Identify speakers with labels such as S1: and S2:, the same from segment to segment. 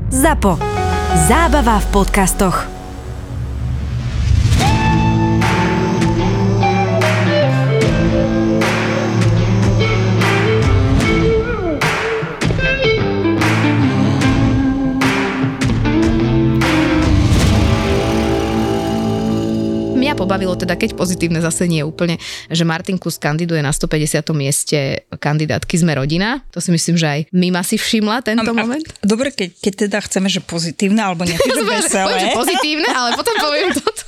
S1: ZAPO. Zábava v podcastoch.
S2: Mňa pobavilo teda, keď pozitívne zase nie je úplne, že Martin Klus kandiduje na 150. mieste kandidátky Sme rodina. To si myslím, že aj Mima si všimla tento moment.
S3: Dobre, keď teda chceme, že pozitívne, alebo nejaké veselé.
S2: Poviem, že pozitívne, ale potom poviem toto.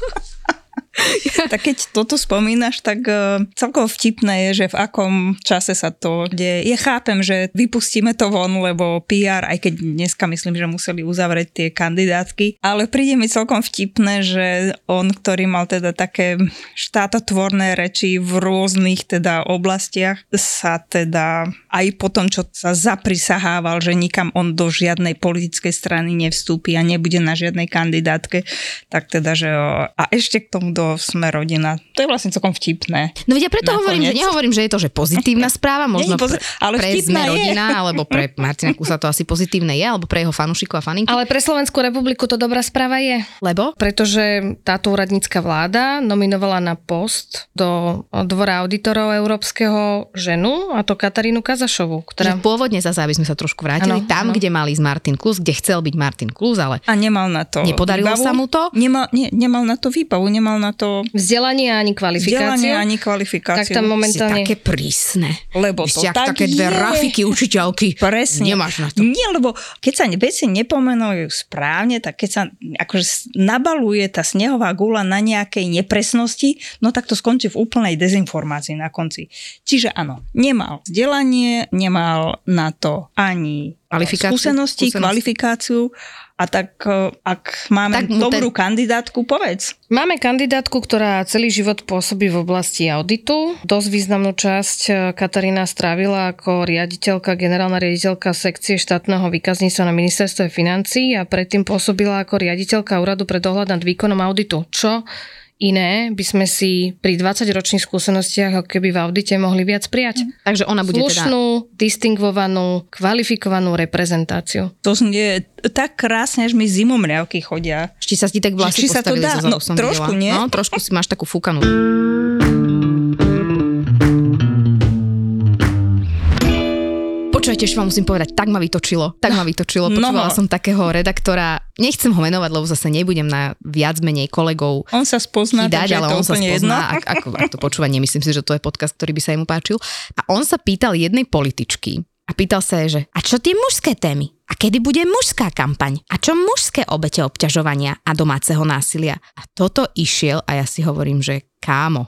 S3: Tak keď toto spomínaš, tak celkovo vtipné je, že v akom čase sa to deje. Ja chápem, že vypustíme to von, lebo PR, aj keď dneska myslím, že museli uzavrieť tie kandidátky, ale príde mi celkom vtipné, že on, ktorý mal teda také štátotvorné reči v rôznych teda oblastiach, sa teda aj po tom, čo sa zaprisahával, že nikam on do žiadnej politickej strany nevstúpi a nebude na žiadnej kandidátke, tak teda, že a ešte k tomu do Sme rodina. To je vlastne celkom vtipné.
S2: No vedia, preto hovorím, že nehovorím, že je to, že pozitívna správa, možno
S3: ale
S2: pre Sme rodina, alebo pre Martina Klusa to asi pozitívne je, alebo pre jeho fanúšikov a faninky.
S4: Ale pre Slovenskú republiku to dobrá správa je.
S2: Lebo?
S4: Pretože táto úradnícka vláda nominovala na post do Dvora auditorov európskeho ženu, a to Katarínu Kazašovú, ktorá...
S2: Pôvodne zase, aby sme sa trošku vrátili, kde mali ísť Martin Klus, kde chcel byť Martin Klus, ale...
S3: A nemal na to
S2: nepodarilo
S3: výbavu.
S2: Sa mu to?
S3: Nemal na to výbavu, nemal na to...
S4: Vzdelanie ani kvalifikáciu. Tak tam momentálne...
S2: Také prísne.
S3: Lebo
S2: ešte
S3: to tak
S2: také dve rafiky učiteľky.
S3: Presne.
S2: Nemáš na to.
S3: Nie, lebo keď sa veci nepomenujú správne, tak keď sa akože nabaluje tá snehová guľa na nejakej nepresnosti, no tak to skončí v úplnej dezinformácii na konci. Čiže áno, nemal vzdelanie, nemal na to ani skúsenosti, kvalifikáciu. A tak, ak máme dobrú kandidátku, povedz.
S4: Máme kandidátku, ktorá celý život pôsobí v oblasti auditu. Dosť významnú časť Katarína strávila ako riaditeľka, generálna riaditeľka sekcie štátneho výkazníctva na ministerstve financií a predtým pôsobila ako riaditeľka úradu pre dohľad nad výkonom auditu. Čo iné by sme si pri 20-ročných skúsenostiach ako keby v audite mohli viac prijať.
S2: Takže ona bude
S4: slušnú, distingvovanú, kvalifikovanú reprezentáciu.
S3: To znie tak krásne, až mi zimomriavky chodia.
S2: Či sa ti tak vlasy postavili zo zadu, som
S3: trošku,
S2: videla.
S3: Nie?
S2: No, trošku si máš takú fúkanú. Počujete, ešte vám musím povedať, tak ma vytočilo. Počúvala som takého redaktora, nechcem ho menovať, lebo zase nebudem na viac menej kolegov
S3: on sa spozná,
S2: takže ale on sa spozná. Ak to počúva, nemyslím si, že to je podcast, ktorý by sa jemu páčil. A on sa pýtal jednej političky a pýtal sa jej, že a čo tie mužské témy? A kedy bude mužská kampaň? A čo mužské obete obťažovania a domáceho násilia? A toto išiel a ja si hovorím, že kámo.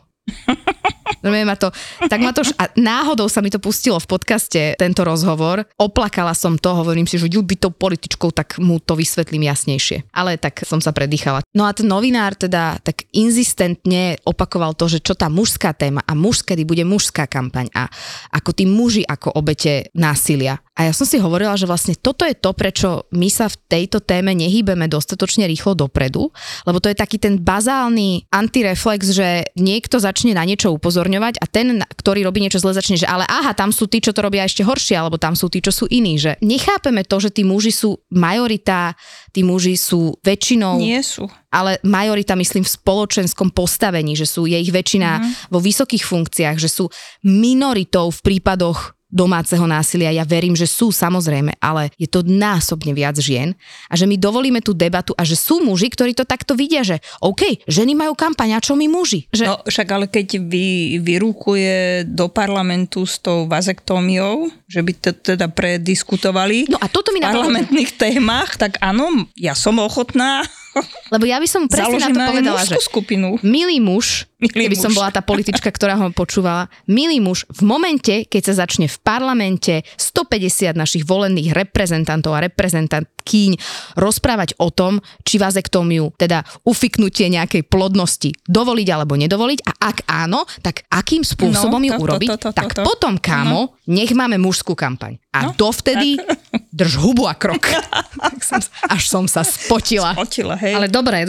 S2: A náhodou sa mi to pustilo v podcaste, tento rozhovor. Oplakala som to, hovorím si, že by tou političkou, tak mu to vysvetlím jasnejšie. Ale tak som sa predýchala. No a ten novinár teda tak inzistentne opakoval to, že čo tá mužská téma a kedy bude mužská kampaň a ako tí muži ako obete násilia. A ja som si hovorila, že vlastne toto je to, prečo my sa v tejto téme nehýbeme dostatočne rýchlo dopredu, lebo to je taký ten bazálny antireflex, že niekto začne na niečo upozorňovať a ten, ktorý robí niečo zle, začne, že ale aha, tam sú tí, čo to robia ešte horšie, alebo tam sú tí, čo sú iní, že nechápeme to, že tí muži sú majorita, tí muži sú väčšinou...
S3: Nie sú.
S2: Ale majorita, myslím, v spoločenskom postavení, že je ich väčšina vo vysokých funkciách, že sú minoritou v prípadoch domáceho násilia. Ja verím, že sú samozrejme, ale je to násobne viac žien a že my dovolíme tú debatu a že sú muži, ktorí to takto vidia, že OK, ženy majú kampaň, a čo my muži? Že...
S3: No však ale keď vyrúkuje do parlamentu s tou vazektómiou, že by to teda prediskutovali
S2: no a toto mi
S3: v parlamentných témach, tak áno, ja som ochotná.
S2: Lebo ja by som presne na to povedala, že
S3: skupinu.
S2: Milý muž, keby som bola tá politička, ktorá ho počúvala, milý muž, v momente, keď sa začne v parlamente 150 našich volených reprezentantov a reprezentantkyň rozprávať o tom, či vazektómiu, teda ufiknutie nejakej plodnosti dovoliť alebo nedovoliť a ak áno, tak akým spôsobom ju urobiť, tak potom, kámo, nech máme mužskú kampaň. A dovtedy drž hubu a krok. Až som sa spotila.
S3: Hej.
S4: Ale dobre.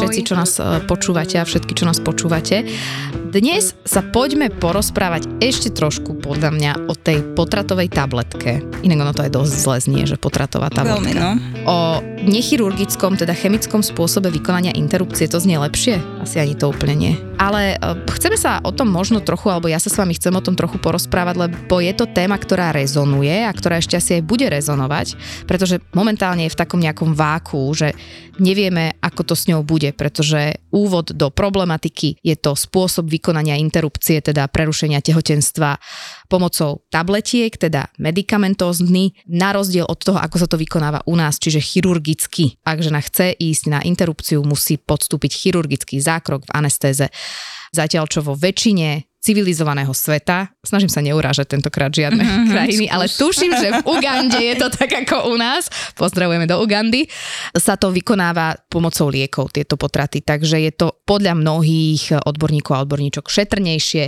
S2: všetci, čo nás počúvate a všetky, čo nás počúvate. Dnes sa poďme porozprávať ešte trošku, podľa mňa, o tej potratovej tabletke. Inak ono to aj dosť zle znie, že potratová tabletka.
S3: Veľmi, no.
S2: O nechirurgickom, teda chemickom spôsobe vykonania interrupcie, to znie lepšie? Asi ani to úplne nie. Ale chceme sa o tom možno trochu, alebo ja sa s vami chcem o tom trochu porozprávať, lebo je to téma, ktorá rezonuje a ktorá ešte asi aj bude rezonovať, pretože momentálne je v takom nejakom váku, že nevieme, ako to s ňou bude, pretože úvod do problematiky je to spôsob vykonania interrupcie, teda prerušenia tehotenstva pomocou tabletiek, teda medikamentózny, na rozdiel od toho, ako sa to vykonáva u nás, čiže chirurgicky. Ak žena chce ísť na interrupciu, musí podstúpiť chirurgický zákrok v anestéze. Zatiaľ, čo vo väčšine civilizovaného sveta, snažím sa neurážať tentokrát žiadne krajiny, ale tuším, že v Ugande je to tak ako u nás, pozdravujeme do Ugandy, sa to vykonáva pomocou liekov, tieto potraty, takže je to podľa mnohých odborníkov a odborníčok šetrnejšie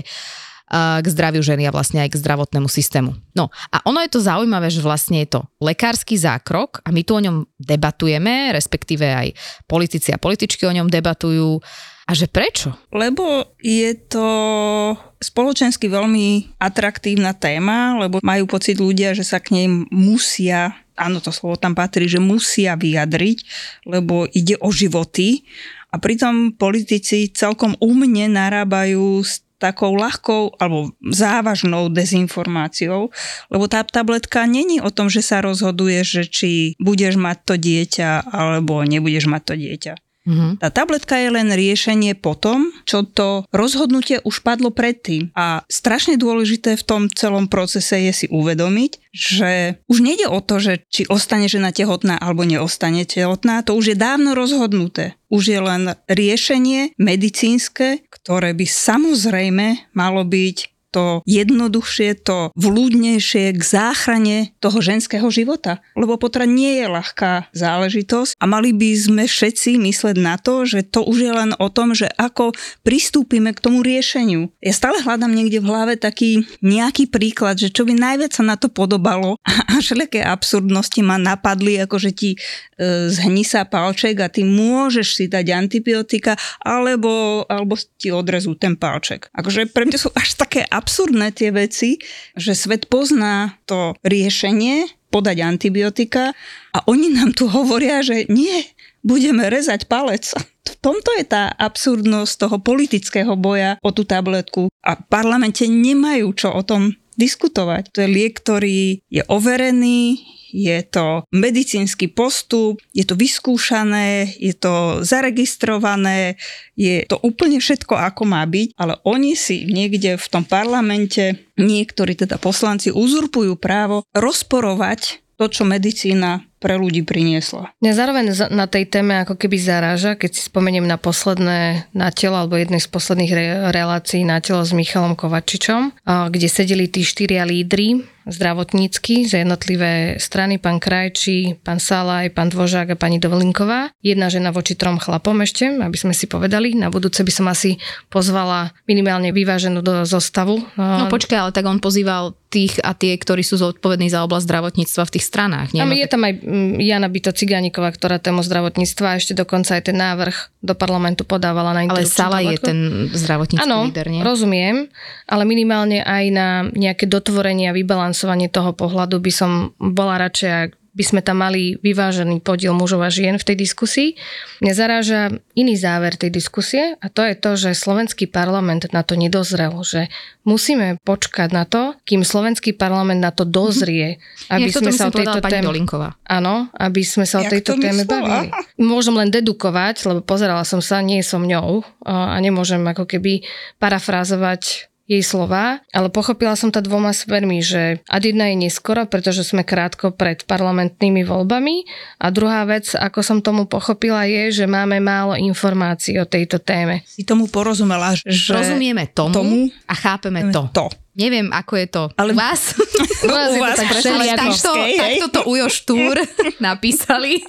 S2: k zdraviu ženy a vlastne aj k zdravotnému systému. No a ono je to zaujímavé, že vlastne je to lekársky zákrok a my tu o ňom debatujeme, respektíve aj politici a političky o ňom debatujú. A že prečo?
S3: Lebo je to spoločensky veľmi atraktívna téma, lebo majú pocit ľudia, že sa k nej musia, áno, to slovo tam patrí, že musia vyjadriť, lebo ide o životy. A pritom politici celkom umne narábajú s takou ľahkou alebo závažnou dezinformáciou, lebo tá tabletka není o tom, že sa rozhoduje, že či budeš mať to dieťa alebo nebudeš mať to dieťa. Tá tabletka je len riešenie potom, čo to rozhodnutie už padlo predtým. A strašne dôležité v tom celom procese je si uvedomiť, že už nejde o to, že či ostane žena tehotná alebo neostane tehotná, to už je dávno rozhodnuté. Už je len riešenie medicínske, ktoré by samozrejme malo byť to jednoduchšie, to vľúdnejšie k záchrane toho ženského života. Lebo potrat nie je ľahká záležitosť a mali by sme všetci mysleť na to, že to už je len o tom, že ako pristúpime k tomu riešeniu. Ja stále hľadám niekde v hlave taký nejaký príklad, že čo by najviac sa na to podobalo a všelijaké absurdnosti ma napadli, ako že ti zhní sa palček a ty môžeš si dať antibiotika alebo ti odrezú ten palček. Akože pre mňa sú až také absurdné tie veci, že svet pozná to riešenie podať antibiotika a oni nám tu hovoria, že nie, budeme rezať palec. V tomto je tá absurdnosť toho politického boja o tú tabletku a v parlamente nemajú čo o tom diskutovať. To je liek, ktorý je overený, je to medicínsky postup, je to vyskúšané, je to zaregistrované, je to úplne všetko, ako má byť, ale oni si niekde v tom parlamente, niektorí teda poslanci uzurpujú právo rozporovať to, čo medicína pre ľudí priniesla.
S4: Mňa zároveň na tej téme ako keby zaráža, keď si spomeniem na posledné Na telo, alebo jednej z posledných relácií Na telo s Michalom Kovačičom, kde sedeli tí 4 lídri zdravotnícky za jednotlivé strany, pán Krajčí, pán Salaj, pán Dvožák a pani Dovolinková. Jedna žena voči 3 chlapom ešte, aby sme si povedali. Na budúce by som asi pozvala minimálne vyváženú do zostavu.
S2: No počkaj, ale tak on pozýval tých a tie, ktorí sú zodpovední za oblasť zdravotníctva v tých stranách. Nie?
S4: Je tam aj Jana Bito Cigániková, ktorá tému zdravotníctva a ešte dokonca aj ten návrh do parlamentu podávala na interrupciu.
S2: Ale Salaj je ten zdravotnícky líder, nie?
S4: Áno, rozumiem, ale minimálne aj na nejaké dotvorenie a vybalansovanie toho pohľadu by som bola radšej, ak by sme tam mali vyvážený podiel mužov a žien v tej diskusii. Mňa zaráža iný záver tej diskusie a to je to, že slovenský parlament na to nedozrel, že musíme počkať na to, kým slovenský parlament na to dozrie, aby sme sa o tejto téme... Áno, aby sme sa o tejto téme bavili. Môžem len dedukovať, lebo pozerala som sa, nie som ňou a nemôžem ako keby parafrázovať jej slová, ale pochopila som to 2 smermi, že ad jedna je neskoro, pretože sme krátko pred parlamentnými voľbami a druhá vec, ako som tomu pochopila, je, že máme málo informácií o tejto téme.
S3: Si tomu porozumela, že...
S2: Rozumieme tomu a chápeme to. Neviem, ako je to ale u vás.
S4: U vás je to tak všelijako.
S2: Takto to Ujo Štúr napísali.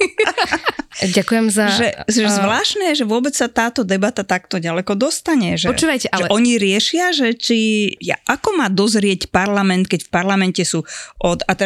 S4: Ďakujem za...
S3: Že zvláštne je, že vôbec sa táto debata takto ďaleko dostane. Že,
S2: počúvajte, ale...
S3: že oni riešia, že ako má dozrieť parlament, keď v parlamente sú a teraz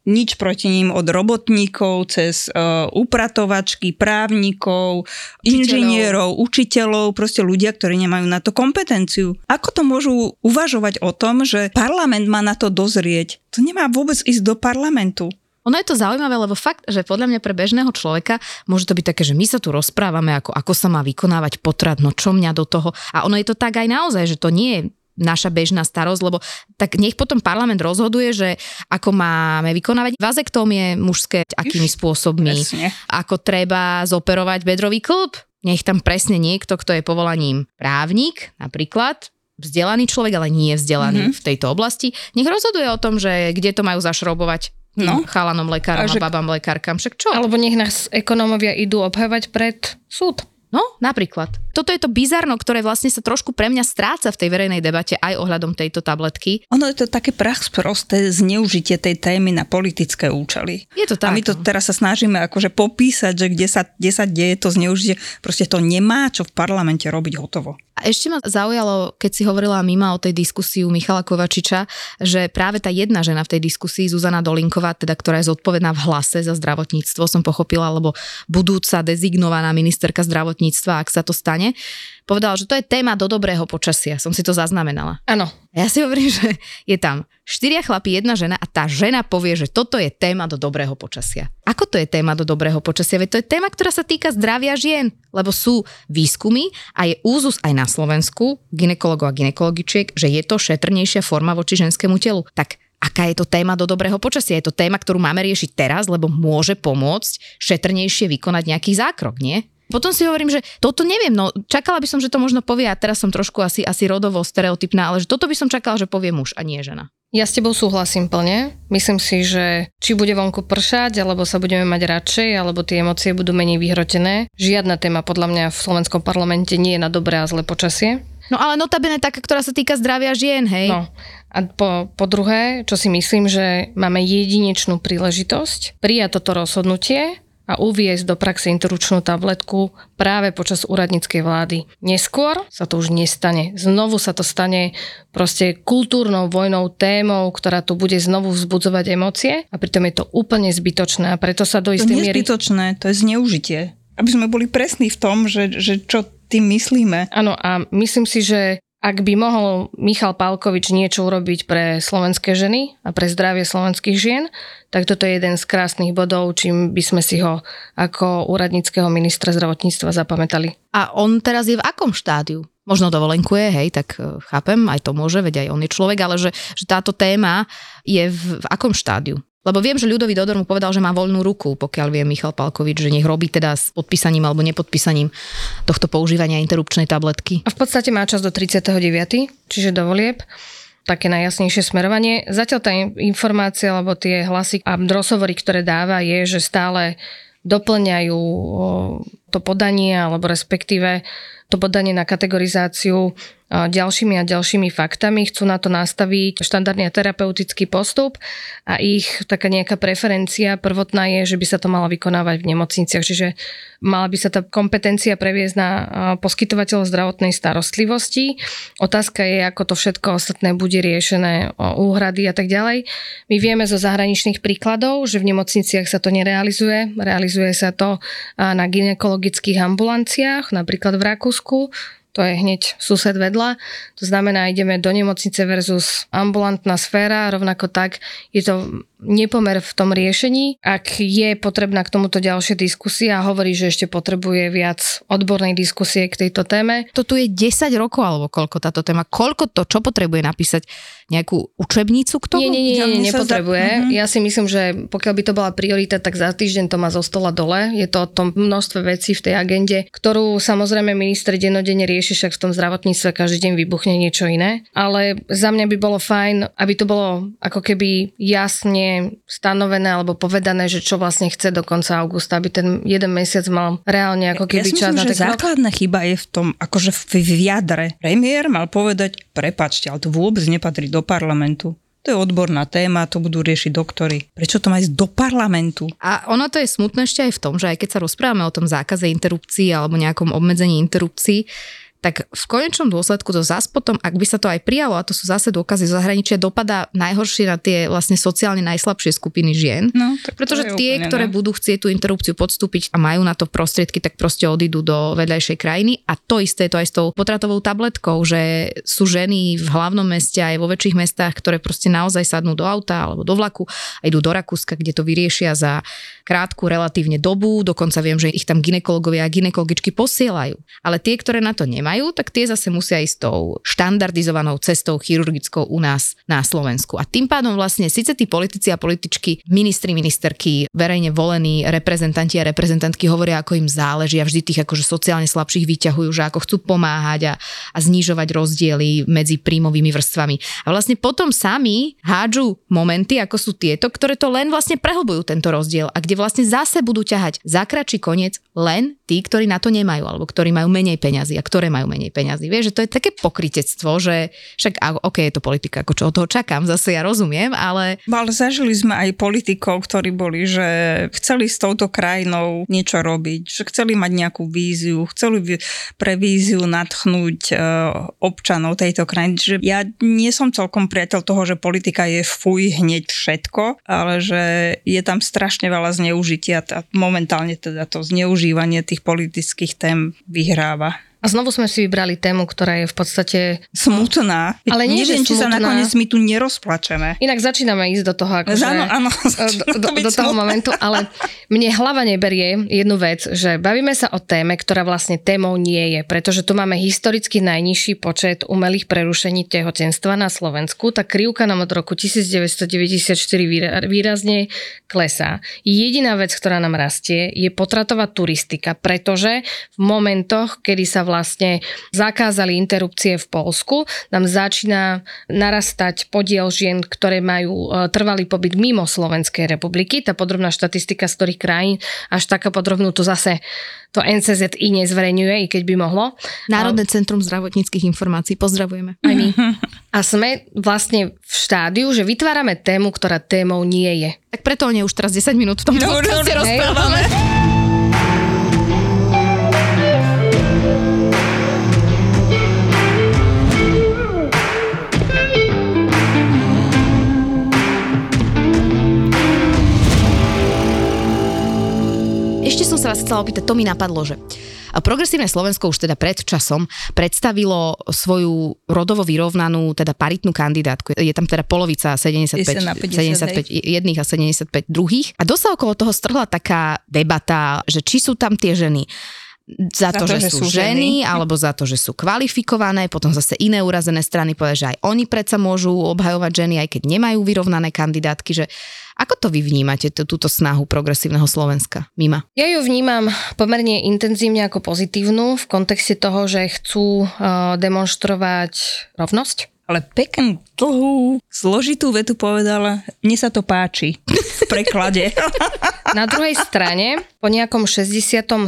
S3: nič proti ním od robotníkov cez upratovačky, právnikov, inžinierov, učiteľov, proste ľudia, ktorí nemajú na to kompetenciu. Ako to môžu uvažovať o tom, že parlament má na to dozrieť? To nemá vôbec ísť do parlamentu.
S2: Ono je to zaujímavé, lebo fakt, že podľa mňa pre bežného človeka môže to byť také, že my sa tu rozprávame, ako sa má vykonávať potrat, no čo mňa do toho. A ono je to tak aj naozaj, že to nie je naša bežná starosť, lebo tak nech potom parlament rozhoduje, že ako máme vykonávať vazektómie mužské, akými spôsobmi,
S3: Presne.
S2: ako treba zoperovať bedrový kĺb. Nech tam presne niekto, kto je povolaním právnik, napríklad, vzdelaný človek, ale nie vzdelaný v tejto oblasti, nech rozhoduje o tom, že kde to majú zašroubovať chalanom lekárom a babám lekárkam. Však čo?
S4: Alebo nech nás ekonómovia idú obhajovať pred súd.
S2: No, napríklad. Toto je to bizarno, ktoré vlastne sa trošku pre mňa stráca v tej verejnej debate aj ohľadom tejto tabletky.
S3: Ono je to také prachsprosté zneužitie tej témy na politické účely.
S2: Je to tak.
S3: A my to teraz sa snažíme akože popísať, že kde sa deje to zneužitie. Proste to nemá čo v parlamente robiť hotovo.
S2: A ešte ma zaujalo, keď si hovorila Mima o tej diskusii u Michala Kovačiča, že práve tá jedna žena v tej diskusii, Zuzana Dolinková, teda, ktorá je zodpovedná v Hlase za zdravotníctvo, som pochopila, lebo budúca dezignovaná ministerka zdravotníctva, ak sa to stane, povedala, že to je téma do dobrého počasia. Som si to zaznamenala.
S4: Áno.
S2: Ja si hovorím, že je tam 4 chlapí, 1 žena a tá žena povie, že toto je téma do dobrého počasia. Ako to je téma do dobrého počasia? Veď to je téma, ktorá sa týka zdravia žien, lebo sú výskumy a je úzus aj na Slovensku gynekologov a gynekologičiek, že je to šetrnejšia forma voči ženskému telu. Tak aká je to téma do dobrého počasia? Je to téma, ktorú máme riešiť teraz, lebo môže pomôcť šetrnejšie vykonať nejaký zákrok, nie? Potom si hovorím, že toto neviem, no čakala by som, že to možno povie, a teraz som trošku asi rodovo stereotypná, ale že toto by som čakala, že povie muž a nie žena.
S4: Ja s tebou súhlasím plne. Myslím si, že či bude vonku pršať, alebo sa budeme mať radšej, alebo tie emócie budú menej vyhrotené. Žiadna téma podľa mňa v slovenskom parlamente nie je na dobré a zlé počasie.
S2: No ale notabene taká, ktorá sa týka zdravia žien, hej?
S4: No. A po druhé, čo si myslím, že máme jedinečnú príležitosť prijať toto rozhodnutie a uviesť do praxe interrupčnú tabletku práve počas úradníckej vlády. Neskôr sa to už nestane. Znovu sa to stane proste kultúrnou vojnou, témou, ktorá tu bude znovu vzbudzovať emócie a pritom je to úplne zbytočné a preto sa do istej miery...
S3: To nie je zbytočné, to je zneužitie. Aby sme boli presní v tom, že čo tým myslíme.
S4: Áno, a myslím si, že ak by mohol Michal Pálkovič niečo urobiť pre slovenské ženy a pre zdravie slovenských žien, tak toto je jeden z krásnych bodov, čím by sme si ho ako úradníckeho ministra zdravotníctva zapamätali.
S2: A on teraz je v akom štádiu? Možno dovolenkuje, hej, tak chápem, aj to môže, veď aj on je človek, ale že táto téma je v akom štádiu? Lebo viem, že Ľudovít Odor mu povedal, že má voľnú ruku, pokiaľ vie Michal Pálkovič, že nech robí teda s podpísaním alebo nepodpísaním tohto používania interrupčnej tabletky.
S4: A v podstate má čas do 39., čiže do volieb. Také najjasnejšie smerovanie. Zatiaľ tá informácia, alebo tie hlasy a rozhovory, ktoré dáva, je, že stále doplňajú to podanie, alebo respektíve to podanie na kategorizáciu ďalšími a ďalšími faktami. Chcú na to nastaviť štandardný terapeutický postup a ich taká nejaká preferencia prvotná je, že by sa to malo vykonávať v nemocniciach. Čiže mala by sa tá kompetencia previesť na poskytovateľov zdravotnej starostlivosti. Otázka je, ako to všetko ostatné bude riešené, úhrady a tak ďalej. My vieme zo zahraničných príkladov, že v nemocniciach sa to nerealizuje. Realizuje sa to na gynekologických ambulanciách, napríklad v Rakúsku. To je hneď sused vedľa. To znamená, ideme do nemocnice versus ambulantná sféra. Rovnako tak je to nepomer v tom riešení. Ak je potrebná k tomuto ďalšia diskusia a hovorí, že ešte potrebuje viac odbornej diskusie k tejto téme.
S2: To tu je 10 rokov alebo koľko táto téma? Koľko to, čo potrebuje napísať? Nejakú učebnicu k tomu?
S4: Nie, nepotrebuje. Ja si myslím, že pokiaľ by to bola priorita, tak za týždeň to má zo stola dole. Je to o tom množstve vecí v tej agende, ktorú samozrejme minister dennodenne rieši, však v tom zdravotníctve každý deň vybuchne niečo iné. Ale za mňa by bolo fajn, aby to bolo ako keby jasne stanovené alebo povedané, že čo vlastne chce do konca augusta, aby ten jeden mesiac mal reálne ako keby čas na ten krok.
S3: Základná chyba je v tom, akože v jadre. Premiér mal povedať, prepáčte, ale to vôbec nepatrí do parlamentu. To je odborná téma, to budú riešiť doktori. Prečo to má ísť do parlamentu?
S2: A ono to je smutné ešte aj v tom, že aj keď sa rozprávame o tom zákaze interrupcií alebo nejakom obmedzení interrupcií, tak v konečnom dôsledku to zás potom, ak by sa to aj prijalo, a to sú zase dôkazy zo zahraničia, dopadá najhoršie na tie vlastne sociálne najslabšie skupiny žien.
S3: No,
S2: pretože tie, ktoré budú chcieť tú interrupciu podstúpiť a majú na to prostriedky, tak proste odídu do vedľajšej krajiny. A to isté je to aj s tou potratovou tabletkou, že sú ženy v hlavnom meste aj vo väčších mestách, ktoré proste naozaj sadnú do auta alebo do vlaku a idú do Rakúska, kde to vyriešia za krátku relatívne dobu. Dokonca viem, že ich tam gynekologovia a gynekologičky posielajú. Ale tie, ktoré na to nemajú, tak tie zase musia ísť tou štandardizovanou cestou chirurgickou u nás na Slovensku. A tým pádom vlastne síce tí politici a političky, ministri, ministerky, verejne volení reprezentanti a reprezentantky hovoria, ako im záleží a vždy tých akože sociálne slabších vyťahujú, že ako chcú pomáhať a znižovať rozdiely medzi príjmovými vrstvami. A vlastne potom sami hádžu momenty, ako sú tieto, ktoré to len vlastne prehlbujú tento rozdiel a kde vlastne zase budú ťahať za kratší koniec len tí, ktorí na to nemajú alebo ktorí majú menej peňazí a ktoré majú menej peňazí. Vieš, že to je také pokrytectvo, že však OK, je to politika, ako čo od toho čakám, zase ja rozumiem, ale...
S3: Ale zažili sme aj politikov, ktorí boli, že chceli s touto krajinou niečo robiť, že chceli mať nejakú víziu, chceli pre víziu nadchnúť občanov tejto krajiny. Že ja nie som celkom priateľ toho, že politika je fuj hneď všetko, ale že je tam strašne veľa zneužitia a momentálne teda to zneužívanie tých politických tém vyhráva.
S4: A znovu sme si vybrali tému, ktorá je v podstate...
S3: Smutná.
S4: Ale nie,
S3: neviem, či sa
S4: smutná.
S3: nakoniec my tu nerozplačeme.
S4: Inak začíname ísť do toho, akože,
S3: áno,
S4: do toho momentu, ale mne hlava neberie jednu vec, že bavíme sa o téme, ktorá vlastne témou nie je, pretože tu máme historicky najnižší počet umelých prerušení tehotenstva na Slovensku, tá krivka nám od roku 1994 výrazne klesá. Jediná vec, ktorá nám rastie, je potratová turistika, pretože v momentoch, kedy sa vlastne zakázali interrupcie v Poľsku, nám začína narastať podiel žien, ktoré majú trvalý pobyt mimo Slovenskej republiky. Tá podrobná štatistika z ktorých krajín, až taká podrobnú to zase to NCZI nezverejňuje, i keď by mohlo.
S2: Národné centrum zdravotníckych informácií, pozdravujeme.
S4: Aj my. A sme vlastne v štádiu, že vytvárame tému, ktorá témou nie je.
S2: Tak preto o nej už teraz 10 minút v tom podcaste rozprávame. Ešte som sa vás chcela opýtať, to mi napadlo, že Progresívne Slovensko už teda pred časom predstavilo svoju rodovo vyrovnanú, teda paritnú kandidátku. Je tam teda polovica 75 jedných a 75 druhých. A dosť okolo toho strhla taká debata, že či sú tam tie ženy za to, že sú ženy, alebo za to, že sú kvalifikované, potom zase iné urazené strany povedali, že aj oni predsa môžu obhajovať ženy, aj keď nemajú vyrovnané kandidátky, že ako to vy vnímate, túto snahu Progresívneho Slovenska, Mima?
S4: Ja ju vnímam pomerne intenzívne ako pozitívnu v kontexte toho, že chcú demonštrovať rovnosť.
S3: Ale peknú, dlhú, zložitú vetu povedala, mne sa to páči v preklade.
S4: Na druhej strane, po nejakom 60. 70.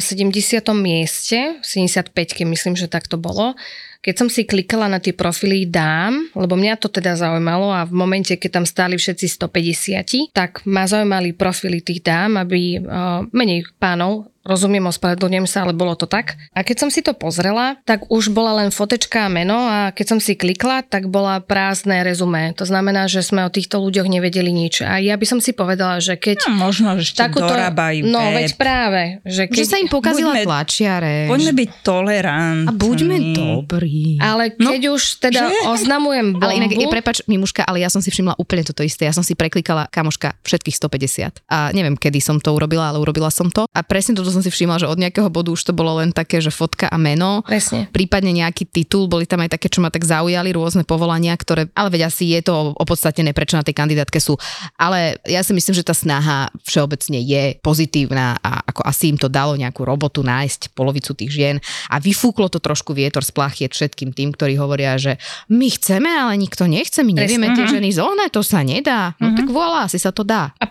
S4: mieste, 75, myslím, že tak to bolo, keď som si klikala na tie profily dám, lebo mňa to teda zaujímalo a v momente, keď tam stáli všetci 150, tak ma zaujímali profily tých dám, aby menej pánov, rozumiem, ospravedlňujem sa, ale bolo to tak. A keď som si to pozrela, tak už bola len fotečka a meno a keď som si klikla, tak bola prázdne rezumé. To znamená, že sme o týchto ľuďoch nevedeli nič. A ja by som si povedala, že keď...
S3: No, možno, že ešte dorábajú.
S4: No, veď práve. Že
S2: sa im pokazila tlačiareň.
S3: Poďme byť tolerantní.
S2: A buďme dobrí.
S4: Ale keď už teda oznamujem bombu...
S2: Ale inak, prepáč, Mimuška, ale ja som si všimla úplne toto isté. Ja som si preklikala, kamoška, všetkých 150. A neviem, kedy som to urobila, ale urobila som to. A presne toto som si všimla, že od nejakého bodu už to bolo len také, že fotka a meno.
S4: Presne.
S2: Prípadne nejaký titul, boli tam aj také, čo ma tak zaujali, rôzne povolania, ktoré, ale veď asi je to opodstatnené, prečo na tej kandidátke sú. Ale ja si myslím, že tá snaha všeobecne je pozitívna a ako asi im to dalo nejakú robotu nájsť polovicu tých žien a vyfúklo to trošku vietor z plachiet všetkým tým, ktorí hovoria, že my chceme, ale nikto nechce, my nevieme tie ženy zohnať, to sa nedá. No tak voilà, asi sa to dá.
S4: A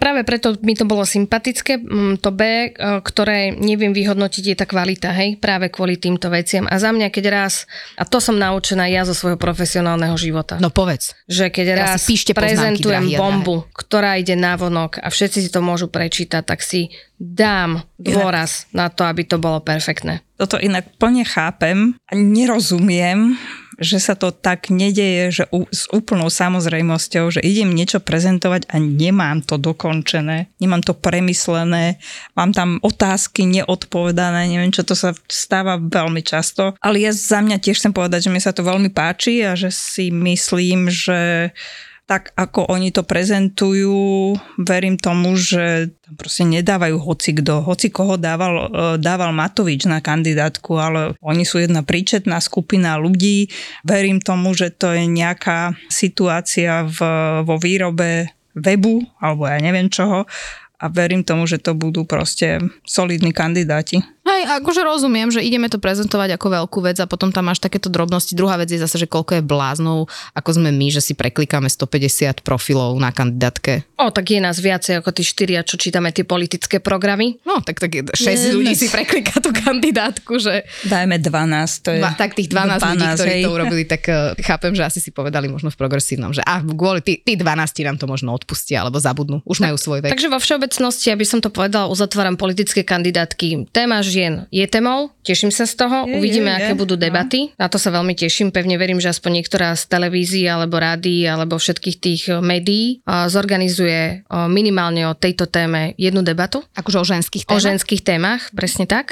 S4: práve preto mi to bolo sympatické. To B, ktoré neviem vyhodnotiť, je tá kvalita, hej, práve kvôli týmto veciam. A za mňa, keď raz, a to som naučená ja zo svojho profesionálneho života.
S2: No povedz.
S4: Že keď raz prezentujem bombu, ktorá ide navonok a všetci si to môžu prečítať, tak si dám dôraz na to, aby to bolo perfektné.
S3: Toto inak plne chápem a nerozumiem, že sa to tak nedeje, že s úplnou samozrejmosťou, že idem niečo prezentovať a nemám to dokončené, nemám to premyslené, mám tam otázky neodpovedané, neviem čo, to sa stáva veľmi často. Ale ja za mňa tiež chcem povedať, že mi sa to veľmi páči a že si myslím, že tak ako oni to prezentujú, verím tomu, že tam proste nedávajú hocikdo. Hoci koho dával Matovič na kandidátku, ale oni sú jedna príčetná skupina ľudí. Verím tomu, že to je nejaká situácia vo výrobe webu, alebo ja neviem čoho. A verím tomu, že to budú proste solidní kandidáti.
S2: Hej, akože rozumiem, že ideme to prezentovať ako veľkú vec a potom tam máš takéto drobnosti. Druhá vec je zase, že koľko je bláznov, ako sme my, že si preklikáme 150 profilov na kandidátke.
S4: Tak je nás viacej ako tí 4, čo čítame tie politické programy.
S2: No, tak 6 ľudí si prekliká tú kandidátku, že...
S3: Dajme 12, to je...
S2: Tak tých 12 ľudí, ktorí to urobili, tak chápem, že asi si povedali možno v progresívnom, že kvôli tí 12 nám to možno odpustia, alebo zabudnú. Už majú svoj vek.
S4: Takže vo všeobecnosti, aby som to povedala, uzatváram politické kandidátky. Téma žien je témou, teším sa z toho, uvidíme, aké budú debaty. Na to sa veľmi teším, pevne verím, že aspoň niektorá z televízií, alebo rádií, alebo všetkých tých médií zorganizuje minimálne o tejto téme jednu debatu.
S2: Akože o ženských témach?
S4: O ženských témach, presne tak.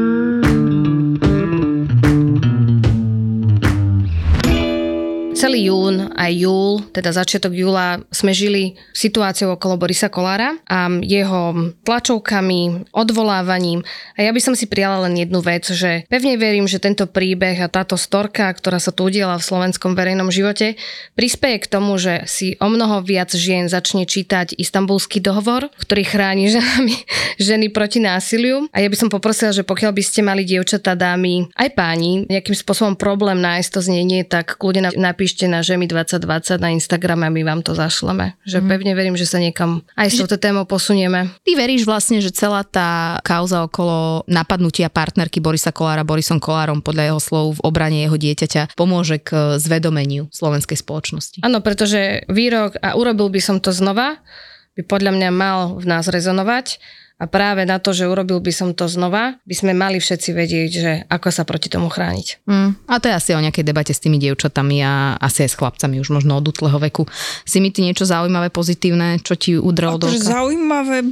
S4: Celý jún aj júl, teda začiatok júla, sme žili situáciou okolo Borisa Kollára a jeho tlačovkami, odvolávaním. A ja by som si prijala len jednu vec, že pevne verím, že tento príbeh a táto storka, ktorá sa tu udiela v slovenskom verejnom živote, prispeje k tomu, že si o mnoho viac žien začne čítať Istanbulský dohovor, ktorý chráni ženy proti násiliu. A ja by som poprosila, že pokiaľ by ste mali dievčatá, dámy, aj páni, nejakým spôsobom problém nájsť to znenie, tak kľudne napíšte na Žemi 2020 na Instagrame a my vám to zašleme. Že pevne verím, že sa niekam aj s touto témou posunieme.
S2: Ty veríš vlastne, že celá tá kauza okolo napadnutia partnerky Borisa Kollára Borisom Kollárom podľa jeho slov v obrane jeho dieťaťa pomôže k zvedomeniu slovenskej spoločnosti?
S4: Áno, pretože výrok a urobil by som to znova by podľa mňa mal v nás rezonovať. A práve na to, že urobil by som to znova, by sme mali všetci vedieť, že ako sa proti tomu chrániť.
S2: A to je asi o nejakej debate s tými dievčatami a asi aj s chlapcami už možno od útleho veku. Si mi ty niečo zaujímavé, pozitívne, čo ti udrelo do oka?
S3: Zaujímavé...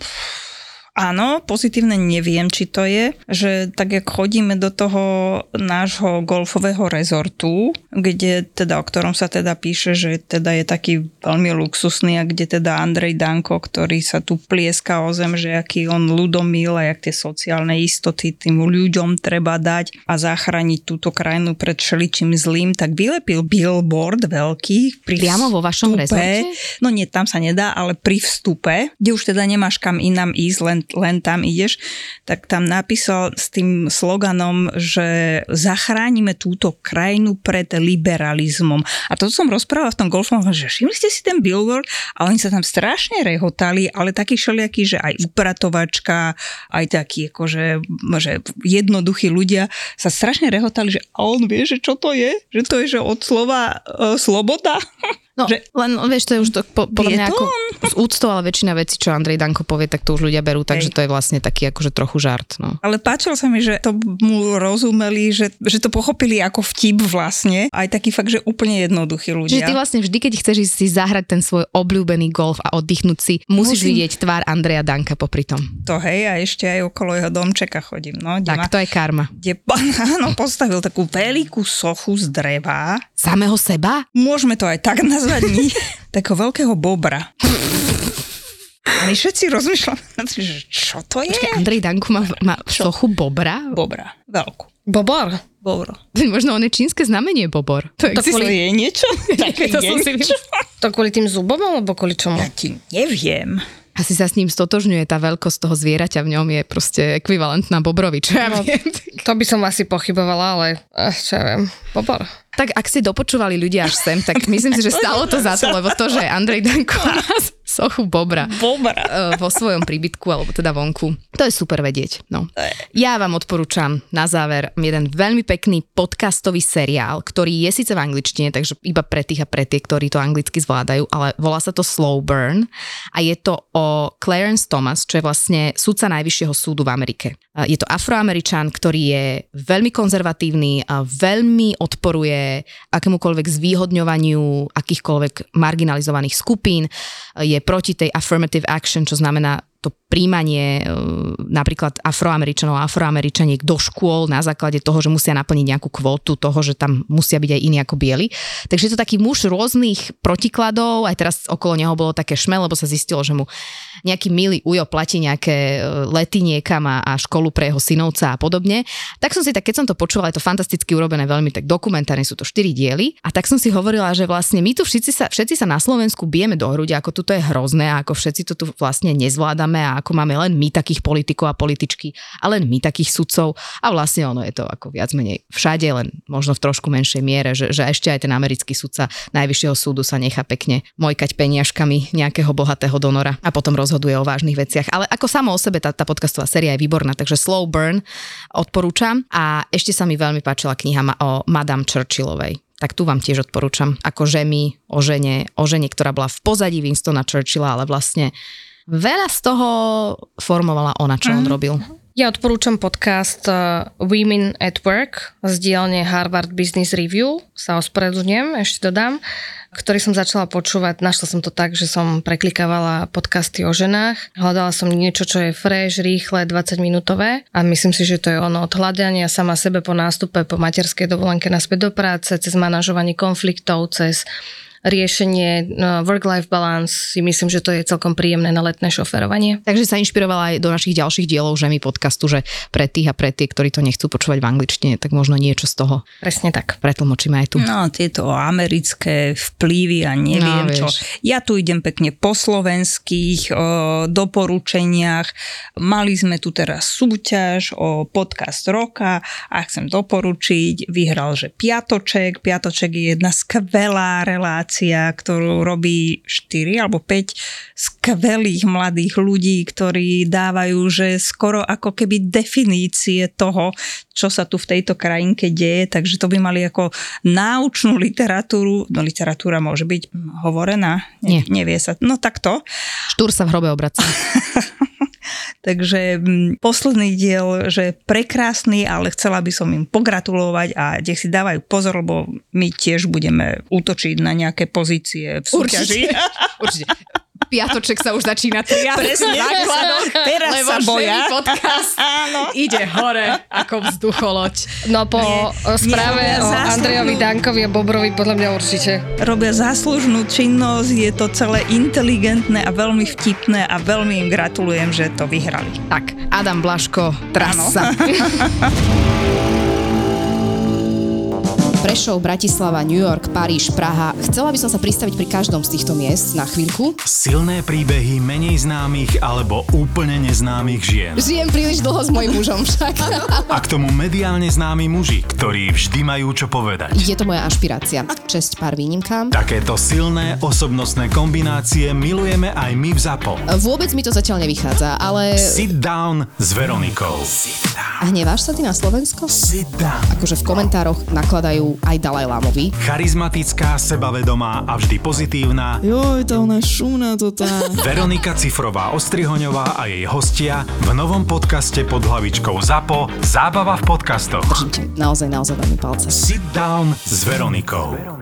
S3: Áno, pozitívne neviem, či to je, že tak jak chodíme do toho nášho golfového rezortu, kde teda, o ktorom sa teda píše, že teda je taký veľmi luxusný a kde teda Andrej Danko, ktorý sa tu plieska o zem, že aký on ľudomil a jak tie sociálne istoty tým ľuďom treba dať a zachrániť túto krajinu pred všeličím zlým, tak vylepil billboard veľký pri
S2: priamo vo vašom rezorte?
S3: No nie, tam sa nedá, ale pri vstupe, kde už teda nemáš kam inám ísť, len tam ideš, tak tam napísal s tým sloganom, že zachránime túto krajinu pred liberalizmom. A to som rozprával v tom golfovom, že všimli ste si ten billboard a oni sa tam strašne rehotali, ale takí všelijakí, že aj upratovačka, aj takí akože že jednoduchí ľudia sa strašne rehotali, že a on vie, že čo to je? Že to je, že od slova sloboda?
S2: No, že, len vieš, to je už to podľa mňa ako z úctou, ale väčšina vecí, čo Andrej Danko povie, tak to už ľudia berú, takže to je vlastne taký akože trochu žart. No.
S3: Ale páčilo sa mi, že to mu rozumeli, že to pochopili ako vtip vlastne, aj taký fakt, že úplne jednoduchí ľudia.
S2: Čiže ty vlastne vždy, keď chceš ísť si zahrať ten svoj obľúbený golf a oddychnúť si, musíš vidieť tvár Andreja Danka popri tom.
S3: To hej, a ešte aj okolo jeho domčeka chodím. No,
S2: tak to je karma.
S3: Kde pán postavil takú veľkú sochu z dreva.
S2: Samého seba?
S3: Môžeme to aj tak nazvať. Takého veľkého bobra. A my všetci rozmýšľame, že čo to je?
S2: Počkej, Andrej Danko má sochu bobra?
S3: Bobra, veľkú.
S4: Bobor?
S3: Bobro.
S2: Možno on je čínske znamenie bobor.
S3: To je niečo?
S4: To kvôli tým zubom, alebo kvôli čomu?
S3: Ja ti neviem.
S2: Asi sa s ním stotožňuje, tá veľkosť toho zvieraťa v ňom je proste ekvivalentná bobrovi, čo ja viem.
S4: To by som asi pochybovala, ale čo ja viem, bobor.
S2: Tak ak si dopočúvali ľudia až sem, tak myslím si, že stalo to za to, lebo to, že Andrej Danko má sochu bobra. Vo svojom príbytku, alebo teda vonku. To je super vedieť. No. Ja vám odporúčam na záver jeden veľmi pekný podcastový seriál, ktorý je síce v angličtine, takže iba pre tých a pre tie, ktorí to anglicky zvládajú, ale volá sa to Slow Burn a je to o Clarence Thomas, čo je vlastne sudca Najvyššieho súdu v Amerike. Je to Afroameričan, ktorý je veľmi konzervatívny a veľmi odporuje akémukoľvek zvýhodňovaniu akýchkoľvek marginalizovaných skupín. Je proti tej affirmative action, čo znamená to príjmanie napríklad Afroameričanov a Afroameričaniek do škôl na základe toho, že musia naplniť nejakú kvótu toho, že tam musia byť aj iní ako bieli. Takže je to taký muž rôznych protikladov, aj teraz okolo neho bolo také šme, lebo sa zistilo, že mu nejaký milý ujo platí nejaké lety niekam a školu pre jeho synovca a podobne. Tak som si keď som to počula, je to fantasticky urobené, veľmi tak dokumentárne, sú to 4 diely a tak som si hovorila, že vlastne my tu všetci sa na Slovensku bijeme do hrude, ako tuto je hrozné a ako všetci to tu vlastne nezvládame a ako máme len my takých politikov a političky a len my takých sudcov a vlastne ono je to ako viac menej všade, len možno v trošku menšej miere, že ešte aj ten americký sudca Najvyššieho súdu sa nechá pekne mojkať peniažkami nejakého bohatého donora a potom rozhoduje o vážnych veciach. Ale ako samo o sebe tá podcastová séria je výborná, takže Slow Burn odporúčam a ešte sa mi veľmi páčila kniha o Madame Churchillovej. Tak tu vám tiež odporúčam ako žemi o žene, ktorá bola v pozadí Winstona Churchilla, ale vlastne veľa z toho formovala ona, čo on robil.
S4: Ja odporúčam podcast Women at Work z dielne Harvard Business Review, sa ospravedlňujem, ešte dodám, ktorý som začala počúvať. Našla som to tak, že som preklikávala podcasty o ženách. Hľadala som niečo, čo je fresh, rýchle, 20-minútové a myslím si, že to je ono od hľadania sama sebe po nástupe, po materskej dovolenke naspäť do práce, cez manažovanie konfliktov, cez riešenie work-life balance, si myslím, že to je celkom príjemné na letné šoferovanie.
S2: Takže sa inšpirovala aj do našich ďalších dielov Žemi podcastu, že pre tých a pre tie, ktorí to nechcú počúvať v angličtine, tak možno niečo z toho
S4: presne tak
S2: pretlmočíme aj tu.
S3: No, tieto americké vplyvy a neviem čo. Ja tu idem pekne po slovenských doporučeniach. Mali sme tu teraz súťaž o podcast roka a chcem doporučiť, vyhral, že Piatoček. Piatoček je jedna skvelá relácia, ktorú robí 4 alebo 5 skvelých mladých ľudí, ktorí dávajú, že skoro ako keby definície toho, čo sa tu v tejto krajinke deje, takže to by mali ako náučnú literatúru. No literatúra môže byť hovorená?
S2: Nie.
S3: Nevie sa. No takto.
S2: Štúr sa v hrobe obracia.
S3: Takže posledný diel, že prekrásny, ale chcela by som im pogratulovať a nech si dávajú pozor, lebo my tiež budeme útočiť na nejaké pozície v súťaži.
S2: Určite. Piatoček sa už začína triasť v základoch,
S3: teraz sa boja.
S2: Lebo podcast ide hore ako vzducholoď.
S4: No po správe o Andrejovi Dankovi a Bobrovi podľa mňa určite.
S3: Robia záslužnú činnosť, je to celé inteligentné a veľmi vtipné a veľmi im gratulujem, že to vyhrali.
S2: Tak, Adam Blaško, trasa.
S1: Prešov, Bratislava, New York, Paríž, Praha. Chcela by som sa pristaviť pri každom z týchto miest na chvíľku.
S5: Silné príbehy menej známych alebo úplne neznámych žien.
S1: Žijem príliš dlho s mojím mužom však.
S5: A k tomu mediálne známi muži, ktorí vždy majú čo povedať.
S1: Je to moja ašpirácia. Česť pár výnimkám.
S5: Takéto silné osobnostné kombinácie milujeme aj my v ZAPO.
S1: Vôbec mi to zatiaľ nevychádza, ale...
S5: Sit down s Veronikou.
S1: A hneváš sa ty na Slovensko?
S5: Sit down.
S1: Akože v komentároch nakladajú aj Dalaj Lámovi.
S5: Charizmatická, sebavedomá a vždy pozitívna.
S6: Joj, tá ona je šumná to tá.
S5: Veronika Cifrová-Ostrihoňová a jej hostia v novom podcaste pod hlavičkou ZAPO Zábava v podcastoch.
S1: Držím ti naozaj veľmi palce.
S5: Sit down s Veronikou.